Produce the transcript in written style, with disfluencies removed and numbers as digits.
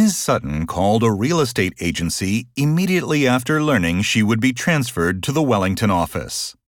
Ms. Sutton called a real estate agency immediately after learning she would be transferred to the Wellington office.